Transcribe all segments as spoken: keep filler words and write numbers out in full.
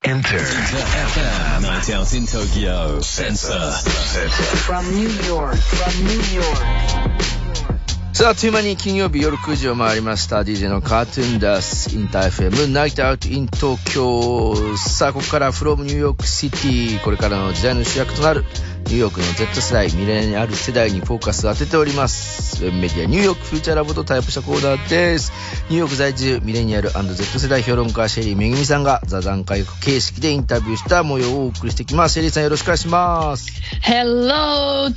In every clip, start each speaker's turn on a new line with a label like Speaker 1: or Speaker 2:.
Speaker 1: Enterエフエム Night Out in Tokyo Sensor
Speaker 2: From New York From New York
Speaker 3: さあ、あっという間に金曜日夜くじを回りました。 ディージェー のカートゥーンダスインター エフエム Night Out in Tokyo。 さあ、ここから From New York City、 これからの時代の主役となるニューヨークの Z 世代、ミレニアル世代にフォーカスを当てております。ウェブメディアニューヨークフューチャーラボとタイプしたコーナーです。ニューヨーク在住ミレニアル &Z 世代評論家シェリーめぐみさんが座談会形式でインタビューした模様をお送りしてきます。シェリーさん、よろしくお願いします。
Speaker 4: Hello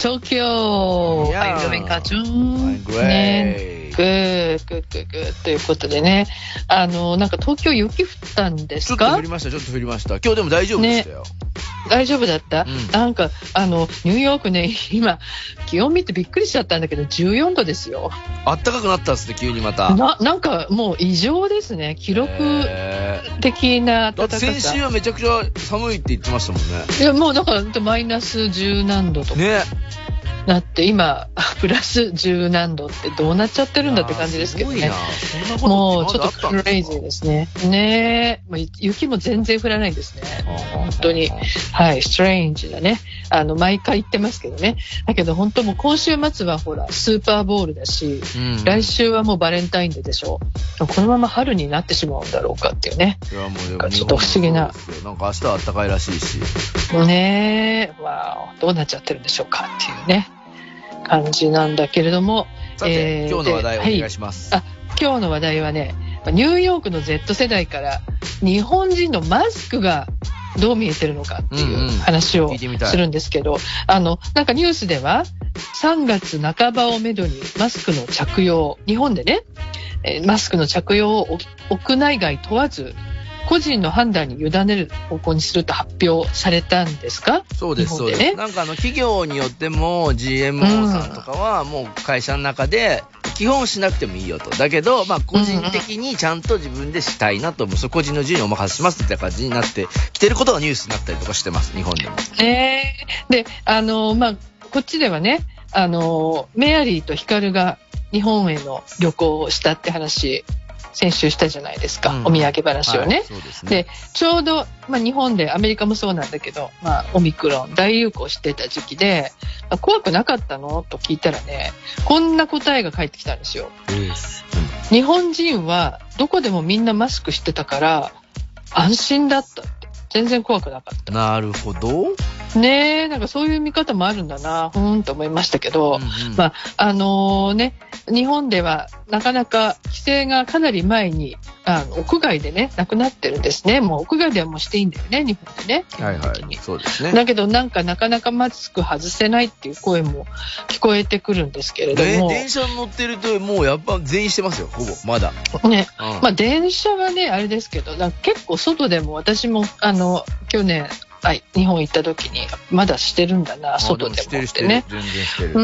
Speaker 4: Tokyo、
Speaker 3: yeah.
Speaker 4: How are you doing, Cartoon?
Speaker 3: I'm great、
Speaker 4: ね、グーグーグーグーということでね、あのなんか東京雪降ったんですか？
Speaker 3: ちょっと降りましたちょっと降りました。今日でも大丈夫でしたよ、ね、
Speaker 4: 大丈夫だった、
Speaker 3: うん、
Speaker 4: なんかあのニューヨークね、今気温見てびっくりしちゃったんだけどじゅうよんどですよ。
Speaker 3: あったかくなったんですね、急にまた。
Speaker 4: な, なんかもう異常ですね、記録的な暖かさ。
Speaker 3: だって先週はめちゃくちゃ寒いって言ってましたもんね。
Speaker 4: いやもうだからマイナスじゅう何度とかねなって今プラスじゅう何度ってどうなっちゃってるんだって感じですけどね。もうちょっとクレイジーですね。ねえ、まあ、雪も全然降らないんですね。本当にはいストレンジだね。あの毎回言ってますけどね。だけど本当もう今週末はほらスーパーボールだし、うん、来週はもうバレンタインデーでしょ。このまま春になってしまうんだろうかっていうね。いやもうでもちょっと不思議な。
Speaker 3: なんか明日は暖かいらしいし。
Speaker 4: ねえ、わあどうなっちゃってるんでしょうかっていうね。感じなんだけれども、
Speaker 3: さて、えー、今日の話題をお願いします、
Speaker 4: はい、あ今日の話題はね、ニューヨークの Z 世代から日本人のマスクがどう見えてるのかっていう話をするんですけど、うんうん、あのなんかニュースではさんがつなかばをめどにマスクの着用、日本でねマスクの着用を屋内外問わず個人の判断に委ねる方向にすると発表されたんですか？
Speaker 3: そうです、そうです。なんかあの企業によっても ジーエムオー さんとかはもう会社の中で基本しなくてもいいよと。だけど、まあ個人的にちゃんと自分でしたいなと思う。それ個人の自由にお任せしますって感じになってきてることがニュースになったりとかしてます、日本でも。
Speaker 4: えー、で、あの、まあ、こっちではね、あの、メアリーとヒカルが日本への旅行をしたって話、先週したじゃないですか、うん、お土産話をね、はい、そうですね。でちょうど、まあ、日本でアメリカもそうなんだけど、まあ、オミクロン大流行してた時期で、まあ、怖くなかったのと聞いたらね、こんな答えが返ってきたんですよ、うん、日本人はどこでもみんなマスクしてたから安心だったって、全然怖くなかった。
Speaker 3: なるほど
Speaker 4: ねえ、なんかそういう見方もあるんだな、ふーんと思いましたけど、うんうん、まああのー、ね、日本ではなかなか規制がかなり前にあの屋外でねなくなってるんですね。もう屋外ではもうしていいんだよね、日本でね。
Speaker 3: はいはい、そうですね。
Speaker 4: だけどなんかなかなかマスク外せないっていう声も聞こえてくるんですけれども、
Speaker 3: 電車に乗ってるともうやっぱ全員してますよ、ほぼまだ。
Speaker 4: ね、うん、まあ電車はねあれですけど、なんか結構外でも私もあの去年はい、日本行った時にまだしてるんだな、外でもってね。
Speaker 3: 全然してる。
Speaker 4: うん、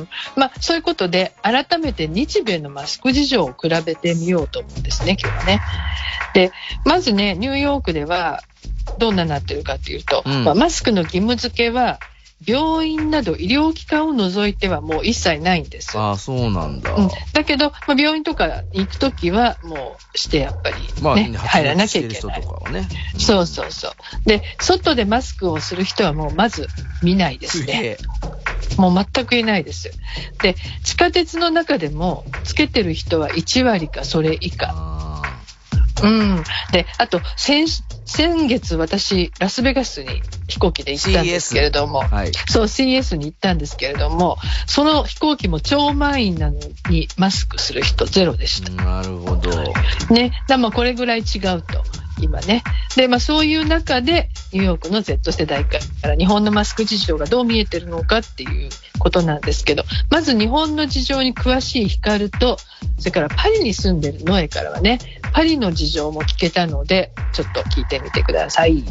Speaker 4: まあそういうことで改めて日米のマスク事情を比べてみようと思うんですね、今日はね。で、まずね、ニューヨークではどんなになってるかというと、うんまあ、マスクの義務付けは病院など医療機関を除いてはもう一切ないんです。
Speaker 3: ああ、そうなんだ。
Speaker 4: うん、だけど、まあ、病院とかに行くときはもうしてやっぱり、ねまあ、入らなきゃいけない。
Speaker 3: とかはね、
Speaker 4: うん、そうそうそう。で、外でマスクをする人はもうまず見ないですね。もう全くいないです。で、地下鉄の中でもつけてる人はいちわりかそれ以下。うん、であと 先, 先月私ラスベガスに飛行機で行ったんですけれども、はい、そう シーエス に行ったんですけれども、その飛行機も超満員なのにマスクする人ゼロでした。
Speaker 3: なるほど、
Speaker 4: ね、だまあこれぐらい違うと今ね。で、まあ、そういう中でニューヨークの Z 世代から日本のマスク事情がどう見えてるのかっていうことなんですけど、まず日本の事情に詳しいヒカルと、それからパリに住んでるノエからはね、パリの事情も聞けたのでちょっと聞いてみてください。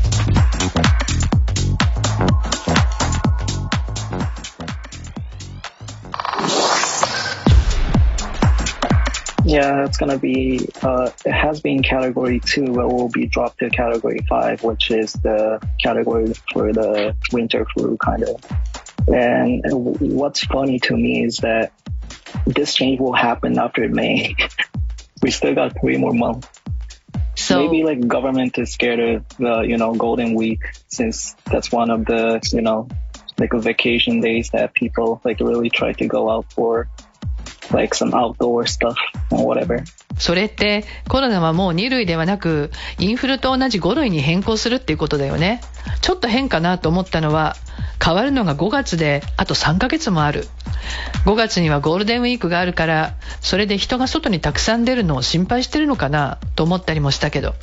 Speaker 5: Yeah, it's going to be, uh, it has been category two, but will be dropped to category five, which is the category for the winter flu kind of. And what's funny to me is that this change will happen after May. We still got three more months.
Speaker 4: So
Speaker 5: maybe like government is scared of the, you know, Golden Week, since that's one of the, you know, like vacation days that people like really try to go out for like some outdoor stuff or whatever.
Speaker 4: それってコロナはもうに類ではなくインフルと同じご類に変更するっていうことだよね。ちょっと変かなと思ったのは変わるのがごがつであとさんかげつもある。ごがつにはゴールデンウィークがあるからそれで人が外にたくさん出るのを心配してるのかなと思ったりもしたけど。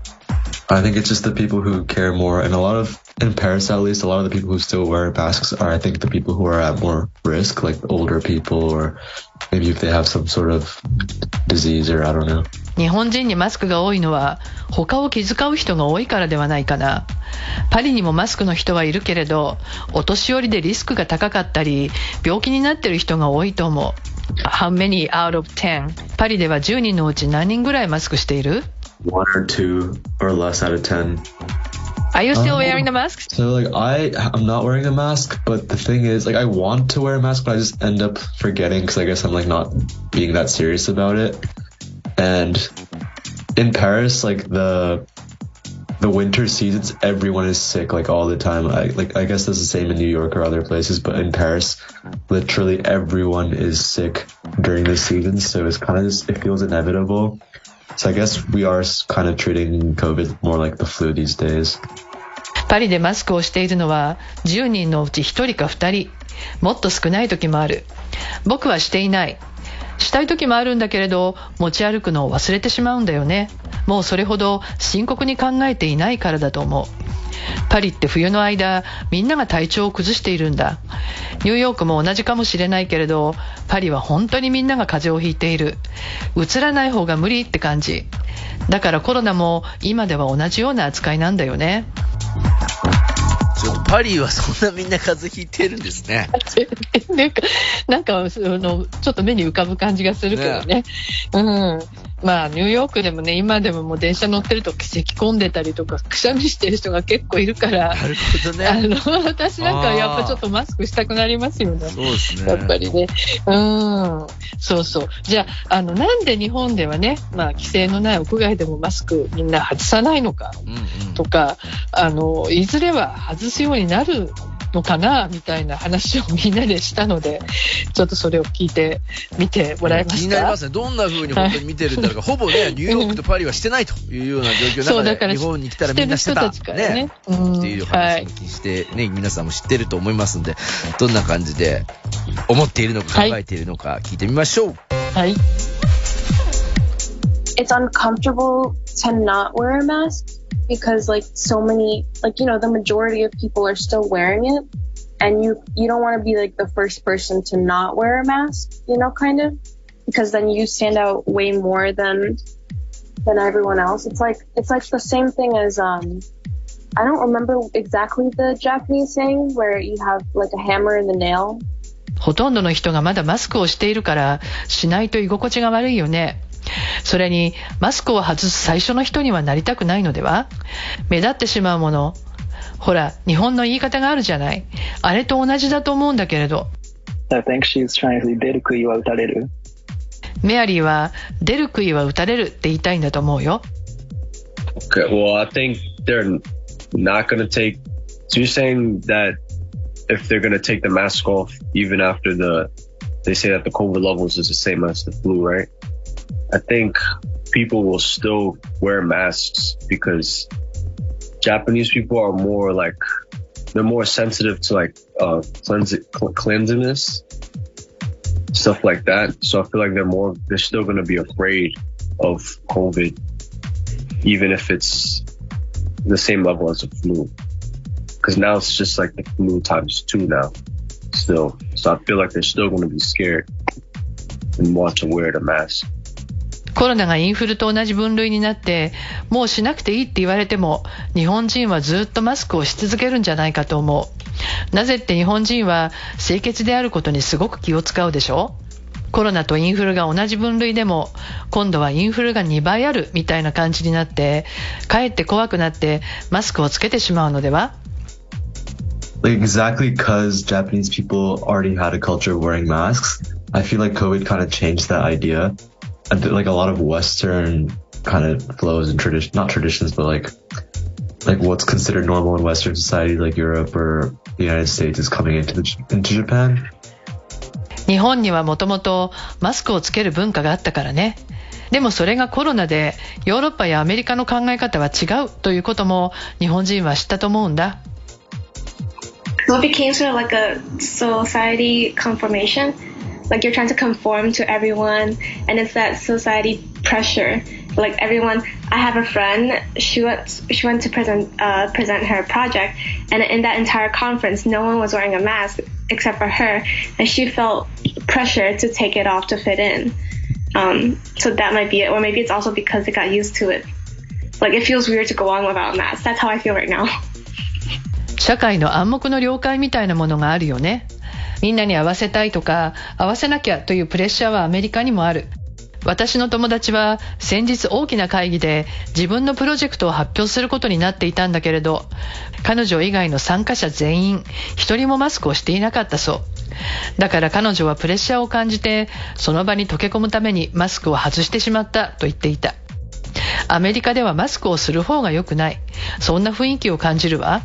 Speaker 6: I think it's just the people who care more, and a lot of, in Paris at least, a lot of the people who still wear masks are, I think, the people who are at more risk, like older people, or maybe if they have some sort of disease, or I don't know.
Speaker 4: 日本人にマスクが多いのは他を気遣う人が多いからではないかな。パリにもマスクの人はいるけれど、お年寄りでリスクが高かったり、病気になっている人が多いと思う。How many out of ten? パリではじゅうにんのうち何人ぐらいマスクしている？
Speaker 6: One or two or less out of ten.
Speaker 4: Are you still wearing the mask?
Speaker 6: So like I, I'm not wearing a mask, but the thing is, like I want to wear a mask, but I just end up forgetting because I guess I'm like not being that serious about it. And in Paris, like the the winter seasons, everyone is sick like all the time. I like I guess that's the same in New York or other places, but in Paris, literally everyone is sick during the season. So it's kind of just, it feels inevitable. So I guess we are kind of treating COVID more like the flu these days.
Speaker 4: パリでマスクをしているのはじゅうにんのうちひとりかふたり、もっと少ない時もある。僕はしていない。したい時もあるんだけれど持ち歩くのを忘れてしまうんだよね。もうそれほど深刻に考えていないからだと思う。パリって冬の間みんなが体調を崩しているんだ。ニューヨークも同じかもしれないけれどパリは本当にみんなが風邪をひいている。うつらない方が無理って感じだからコロナも今では同じような扱いなんだよね。
Speaker 3: ちょっとパリはそんなみんな風邪ひいてるんですね。
Speaker 4: なんか、なんかそのちょっと目に浮かぶ感じがするけどね。ねうん。まあニューヨークでもね今でももう電車乗ってると咳込んでたりとかくしゃみしてる人が結構いるから。
Speaker 3: なるほどね。
Speaker 4: あの私なんかやっぱちょっとマスクしたくなりますよね。
Speaker 3: そうですね。
Speaker 4: やっぱりね。うん。そうそう。じゃああのなんで日本ではねまあ規制のない屋外でもマスクみんな外さないのかとか、うんうん、あのいずれは外すようになるのかなみたいな話をみんなでしたのでちょっとそれを聞いてみてもらえますか。
Speaker 3: 気になりますね。どんな風に本当に見てるんだろうか、はい、ほぼねニューヨークとパリはしてないというような状況の中で日本に来たらみんなしてた
Speaker 4: してる人たちからね、
Speaker 3: ねうん、っていう話を聞いて、ね、皆さんも知ってると思いますのでどんな感じで思っているのか考えているのか聞いてみましょう。
Speaker 4: はい。
Speaker 7: It's uncomfortable to not wear a mask.Because like so many, like, you know, the majority of people are still wearing it and you, you don't want to be like the first person to not wear a mask, you know, kind of, because then you stand out way more than, than everyone else. It's like, it's like the same thing as, um, I don't remember exactly the Japanese saying where you have like a hammer and the nail.
Speaker 4: ほとんどの人がまだマスクをしているからしないと居心地が悪いよね。それにマスクを外す最初の人にはなりたくないのでは。目立ってしまうもの。ほら日本の言い方があるじゃない。あれと同じだと思うんだけれど。
Speaker 5: I think she's trying to say 出る杭は打たれる。
Speaker 4: メアリーは出る杭は打たれるって言いたいんだと思うよ。
Speaker 8: Okay, well I think they're not going to take. So you're saying that if they're going to take the mask off even after the they say that the COVID levels is the same as the flu, right? I think people will still wear masks because Japanese people are more like, they're more sensitive to like uh, cleanse, cleanliness, stuff like that. So I feel like they're more, they're still going to be afraid of COVID, even if it's the same level as the flu. Because now it's just like the flu times two now, still. So I feel like they're still going to be scared and want to wear the mask.
Speaker 4: コロナがインフルと同じ分類になってもうしなくていいって言われても日本人はずっとマスクをし続けるんじゃないかと思う。なぜって日本人は清潔であることにすごく気を使うでしょ。コロナとインフルが同じ分類でも今度はインフルがにばいあるみたいな感じになってかえって怖くなってマスクをつけてしまうのでは。
Speaker 6: Exactly because Japanese people already had a culture of wearing masks. I feel like COVID kind of changed that idea.Like a lot of Western kind of flows and tradition, not traditions, but like like what's considered normal in Western society, like Europe or the United States, is coming into the, into Japan.
Speaker 4: 日本にはもともとマスクをつける文化があったからね。でもそれがコロナでヨーロッパやアメリカの考え方は違うということも日本人は知ったと思うんだ。
Speaker 9: So it became sort of like a society conformation. Like you're trying to conform to everyone, and it's that society pressure. Like everyone, I have a friend. She went. She went to present uh, present her project, and in that entire conference, no one was wearing a mask except for her, and she felt pressure to take it off to fit in. Um, so that might be it, or maybe it's also because they got used to it. Like it feels weird to go on without a mask. That's how I feel right now.
Speaker 4: 社会の暗黙の了解みたいなものがあるよね。みんなに合わせたいとか合わせなきゃというプレッシャーはアメリカにもある。私の友達は先日大きな会議で自分のプロジェクトを発表することになっていたんだけれど、彼女以外の参加者全員一人もマスクをしていなかったそう。だから彼女はプレッシャーを感じてその場に溶け込むためにマスクを外してしまったと言っていた。アメリカではマスクをする方が良くない、そんな雰囲気を感じるわ。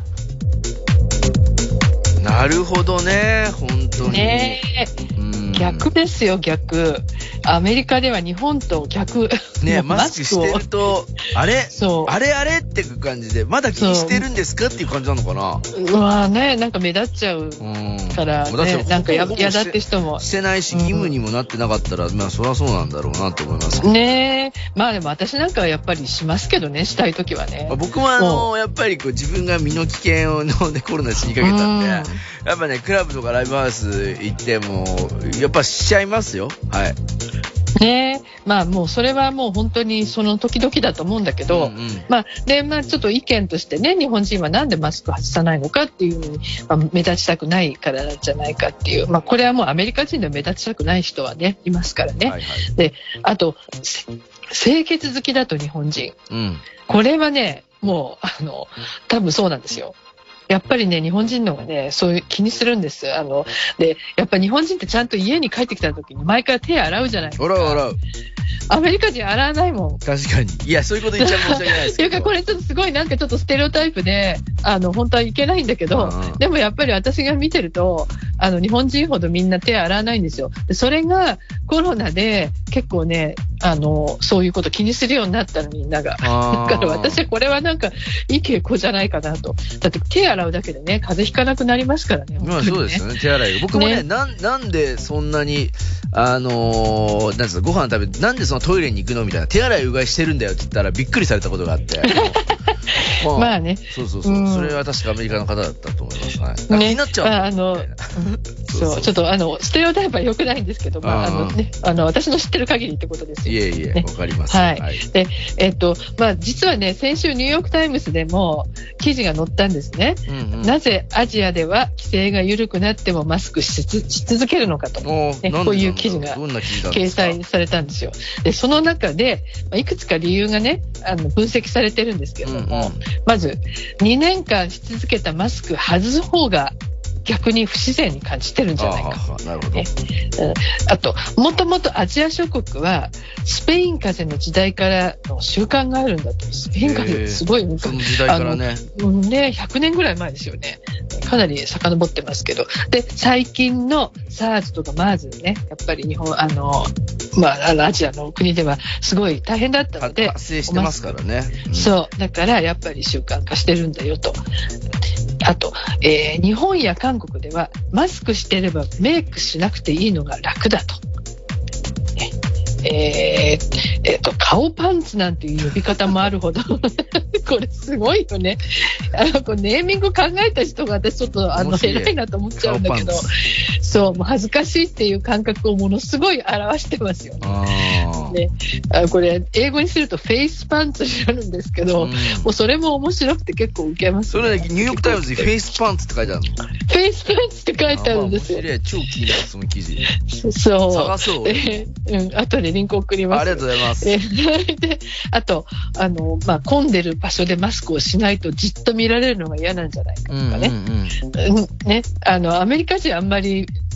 Speaker 3: なるほどね、本当に。ね
Speaker 4: え、うん、逆ですよ、逆。アメリカでは日本と逆。
Speaker 3: ね、マスクしてると、あれあれあれっていう感じで、まだ気にしてるんですかっていう感じなのかな。
Speaker 4: うわね、なんか目立っちゃうから、ね、うん、なんかやだって人も。
Speaker 3: してないし、義務にもなってなかったら、うん、まあそりゃそうなんだろうなと思います。
Speaker 4: ねえ、まあでも私なんかはやっぱりしますけどね、したいときはね。
Speaker 3: 僕もあの、やっぱりこう自分が身の危険をのでコロナ死にかけたんで、うん、やっぱね、クラブとかライブハウス行っても、やっぱしちゃいますよ。はい。
Speaker 4: ねえ、まあもうそれはもう本当にその時々だと思うんだけど、うんうん、まあで、まあちょっと意見としてね、日本人はなんでマスク外さないのかっていうのに、まあ、目立ちたくないからじゃないかっていう、まあこれはもうアメリカ人で目立ちたくない人はね、いますからね。はいはい、で、あと、清潔好きだと日本人。うん、これはね、もう、あの、多分そうなんですよ。やっぱりね、日本人のがね、そういう気にするんです。あの、で、やっぱ日本人ってちゃんと家に帰ってきた時に毎回手洗うじゃないですか。
Speaker 3: 洗う洗う。
Speaker 4: アメリカ人洗わないもん。
Speaker 3: 確かに。いや、そういうこと言っちゃ申し訳ないですけど。
Speaker 4: というか、これちょっとすごいなんかちょっとステレオタイプで、あの、本当はいけないんだけど、うん、でもやっぱり私が見てると、あの、日本人ほどみんな手洗わないんですよ。で、それがコロナで結構ね、あの、そういうこと気にするようになったの、みんなが。だから私はこれはなんかいい傾向じゃないかなと。だって手洗うだけでね、風邪ひかなくなりますからね。
Speaker 3: まあそうですよね、手洗い。僕もね、ねな、なんでそんなに、あのー、なんですか、ご飯食べて、なんでそのトイレに行くのみたいな、手洗いうがいしてるんだよって言ったらびっくりされたことがあって。まあ、まあね。そうそうそう。うん、それは確かアメリカの方だったと思いますね。ね、気になっちゃう。
Speaker 4: あの、そう、ちょっとあの、ステレオタイプは良くないんですけど、まあ、あのね、あの、私の知ってる限りってことですよ。
Speaker 3: いえいえ、わ、ね、かります。
Speaker 4: はい。はい、で、えっと、まあ、実はね、先週ニューヨークタイムズでも記事が載ったんですね。うんうん、なぜアジアでは規制が緩くなってもマスクし続けるのかと、ね、こういう記事が掲載されたんですよ。で、その中で、まあ、いくつか理由がね、あの、分析されてるんですけれども、うんうん、まず、にねんかんし続けたマスク外す方が逆に不自然に感じてるんじゃないか。
Speaker 3: あ, なるほど、ね、
Speaker 4: うん、あと、もともとアジア諸国はスペイン風邪の時代からの習慣があるんだと。スペイン風邪すごい昔、
Speaker 3: その時代からね、
Speaker 4: あのね、ひゃくねんぐらい前ですよね。かなり遡ってますけど。で、最近の SARS とか MERS ね、やっぱり日本、あの、まあ、あのアジアの国ではすごい大変だったので。
Speaker 3: 発生してますからね。
Speaker 4: うん、そう。だからやっぱり習慣化してるんだよと。あと、えー、日本や韓国ではマスクしてればメイクしなくていいのが楽だと。ね、えーえー、と顔パンツなんていう呼び方もあるほどこれすごいよね。あのこうネーミング考えた人が私ちょっとあの偉いなと思っちゃうんだけど、そうもう恥ずかしいっていう感覚をものすごい表してますよね。あねあこれ英語にするとフェイスパンツになるんですけど、うん、もうそれも面白くて結構ウケます、
Speaker 3: ね、それねニューヨークタイムズにフェイスパンツって書いてあるの。
Speaker 4: フェイスパンツって書いてあるんですよ。
Speaker 3: 面白い、超気になるその記事。
Speaker 4: そう
Speaker 3: 探そう、
Speaker 4: えー、うん後でリンク送ります。
Speaker 3: ありがとうございます。
Speaker 4: えー、であとあの、まあ、混んでる場所でマスクをしないとじっと見られるのが嫌なんじゃないかとかね、うんうんうん、ねあのアメリカ人あんまり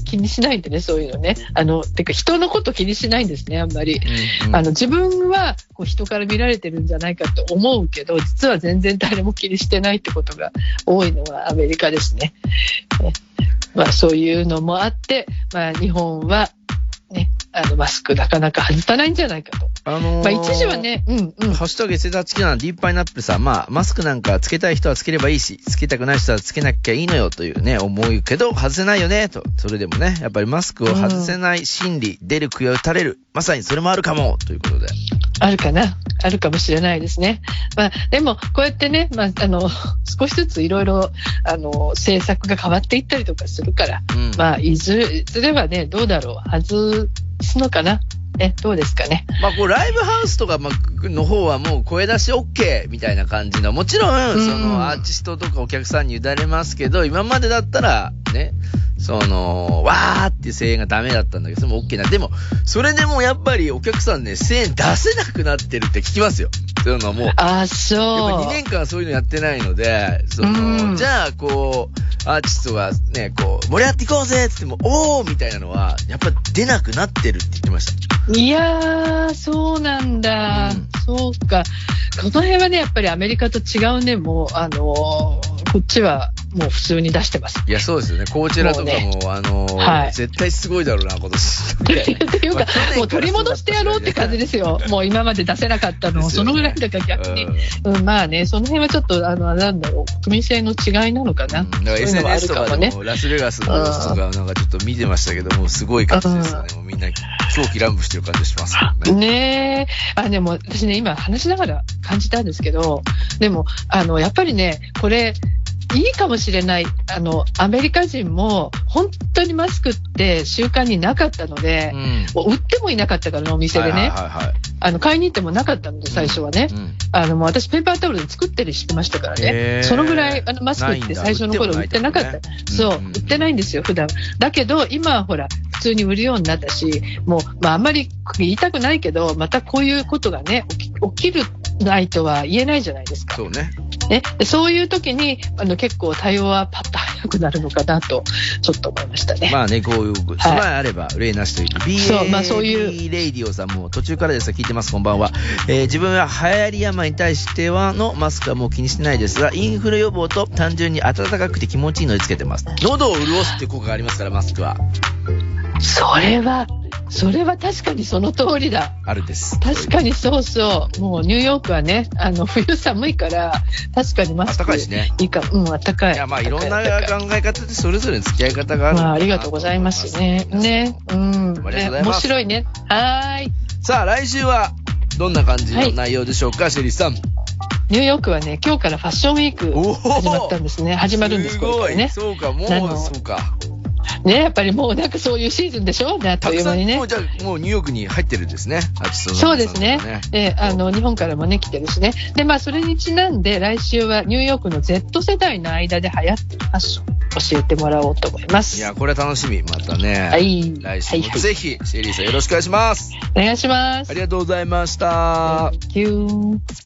Speaker 4: 気にしないんでね、そういうのね。あの、てか人のこと気にしないんですね、あんまり。
Speaker 3: うんうん、
Speaker 4: あの、自分はこう人から見られてるんじゃないかと思うけど、実は全然誰も気にしてないってことが多いのはアメリカですね。ね、まあそういうのもあって、まあ日本はね、あのマスクなかなか外さないんじゃないかと。
Speaker 3: あのー、
Speaker 4: まあ一時はね、うんうん。
Speaker 3: ハッシュタグ エスエス 付きなディープパイナップルさん、まあマスクなんかつけたい人はつければいいし、つけたくない人はつけなきゃいいのよというね、思うけど、外せないよね、と。それでもね、やっぱりマスクを外せない心理、出る杭を打たれる。まさにそれもあるかも、ということで。
Speaker 4: あるかなあるかもしれないですね。まあ、でも、こうやってね、まあ、あの、少しずついろいろ、あの、政策が変わっていったりとかするから、うん、まあ、いずれ、いずれはね、どうだろう、外すのかなえ、どうですかね。
Speaker 3: まあ、こう、ライブハウスとかの方はもう声出し OK みたいな感じの、もちろん、その、アーティストとかお客さんに委ねますけど、今までだったら、ね、その、わーっていう声援がダメだったんだけど、それも OK な。でも、それでもやっぱりお客さんね、声援出せなくなってるって聞きますよ。そういうのもう。
Speaker 4: あ、そう。
Speaker 3: やっぱにねんかんそういうのやってないので、その、じゃあ、こう、アーティストがね、こう、盛り上がっていこうぜって言っても、おーみたいなのは、やっぱ出なくなってるって言ってました。
Speaker 4: いやー、そうなんだ。うん、そうか。この辺はね、やっぱりアメリカと違うね、もう、あのー、こっちはもう普通に出してます。
Speaker 3: いや、そうですよね。コーチェラとかも、もね、あのーはい、絶対すごいだろうな、今年。
Speaker 4: っていうか、もう取り戻してやろうって感じですよ。もう今まで出せなかったのを、そのぐらいだから逆に、うんうん。まあね、その辺はちょっと、あの、なんだろう、国民性の違いなのかな。うん、だから
Speaker 3: エスエヌエス とかでも、ラスベガスの様子とか、なんかちょっと見てましたけども、すごい感じですよね。もうみんな狂気乱舞してる感じしますよね。
Speaker 4: ねえ。あ、でも私ね、今話しながら感じたんですけど、でも、あの、やっぱりね、これ、いいかもしれない。あの、アメリカ人も本当にマスクって習慣になかったので、うん、もう売ってもいなかったからお店でね、はいはいはいはい、あの、買いに行ってもなかったので、最初はね。うんうん、あの、もう私ペーパータオルで作ってるしてましたからね。そのぐらい、あの、マスクって最初の頃売ってなかった。ね、そう、うんうん、売ってないんですよ、普段。だけど、今はほら、普通に売るようになったし、もう、まあ、あんまり言いたくないけど、またこういうことがね、起き、起きるないとは言えないじゃないですか。
Speaker 3: そうね。
Speaker 4: ね、そういう時にあの結構対応はパッと早くなるのかなとちょっと思いましたね。
Speaker 3: まあね、こういう備えあれば例なしという、はい、ビーエー
Speaker 4: そう、まあ、そういう
Speaker 3: レイディオさんも途中からですが聞いてます。こんばんは、えー、自分は流行り病に対してはのマスクはもう気にしてないですが、インフル予防と単純に暖かくて気持ちいいのでつけてます。喉を潤すっていう効果がありますから、マスクは。
Speaker 4: それはそれは確かにその通りだ。
Speaker 3: あるです。
Speaker 4: 確かにそうそう。もうニューヨークはね、あの冬寒いから確かにマスク
Speaker 3: 暖かいしね。
Speaker 4: いいか、うん、暖かい。
Speaker 3: いや、まあいろんな考え方でそれぞれの付き合い方がある。
Speaker 4: まあありがとうございますね。ね、うん、ね、面白いね。はーい。
Speaker 3: さあ来週はどんな感じの内容でしょうか、はい、シェリーさん。
Speaker 4: ニューヨークはね、今日からファッションウィーク始まったんですね。始まるんです、これからね。
Speaker 3: そうか、もうそうか。
Speaker 4: ね、やっぱりもうなんかそういうシーズンでしょ、ね、あっという間にね。
Speaker 3: もうじゃあもうニューヨークに入ってるんですね、アーティストの、ね。
Speaker 4: そうですね。で、あの日本からもね来てるしね。で、まあそれにちなんで来週はニューヨークの Z 世代の間で流行ってるファッション教えてもらおうと思います。
Speaker 3: いや、これは楽しみ。またね。
Speaker 4: はい。
Speaker 3: 来週もぜひ、シェリーさんよろしくお願いします。
Speaker 4: お願いします。
Speaker 3: ありがとうございました。
Speaker 4: Thank you.